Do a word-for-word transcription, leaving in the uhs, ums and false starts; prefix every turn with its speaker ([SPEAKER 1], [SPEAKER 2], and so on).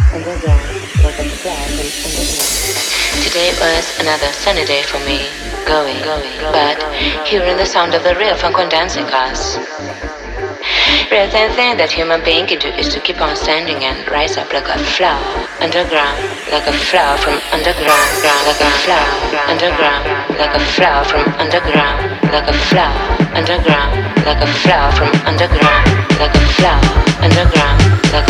[SPEAKER 1] underground, like a flower from underground. Today was another sunny day for me, going, going, but hearing the sound of the real funk on dancing cars. Real thin thing that human being can do is to keep on standing and rise up like a flower underground, like a flower from underground, like a flower underground, like a flower from underground, like a flower underground, like a flower from underground, like a flower underground, like